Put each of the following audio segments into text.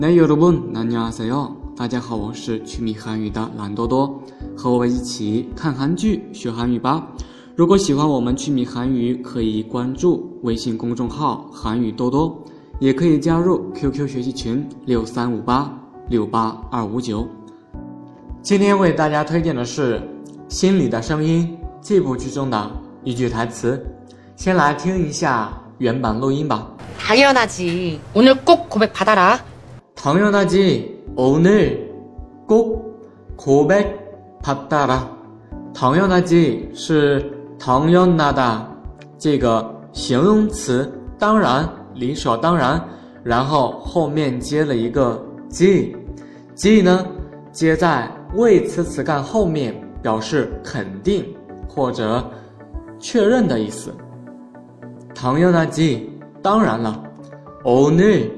네 여러분 안녕하세요。大家好，我是趣米韩语的蓝多多，和我一起看韩剧学韩语吧。如果喜欢我们趣米韩语，可以关注微信公众号韩语多多，也可以加入 QQ 学习群6358-68259。今天为大家推荐的是《心里的声音》这部剧中的一句台词，先来听一下原版录音吧。 당연하지. 오늘 꼭 고백 받아라. 당연하지. 오늘 꼭 고백 받아라. 당연하지 是당연하다这个形容词，当然，理所当然，然后后面接了一个 지 呢接在谓词词干后面，表示肯定或者确认的意思。당연하지当然了。오늘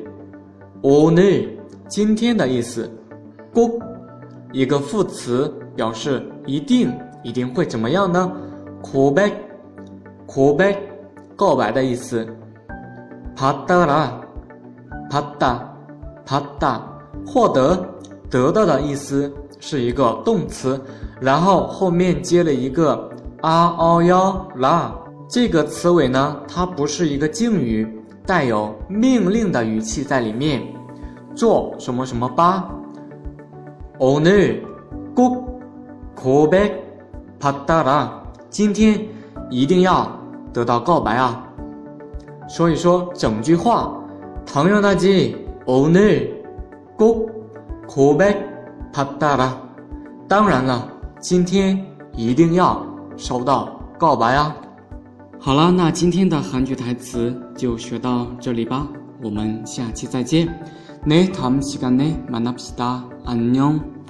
今天的意思。꼭一个副词表示一定会怎么样呢？고백告白的意思。받다获得得到的意思，是一个动词，然后后面接了一个라这个词尾呢，它不是一个敬语，带有命令的语气在里面，做什么什么吧。오늘 꼭 고백 받아라今天一定要得到告白啊。所以说整句话당연하지 오늘 꼭 고백 받아라当然了，今天一定要收到告白啊。好了，那今天的韩剧台词就学到这里吧，我们下期再见。네 다음 시간에 만납시다. 안녕.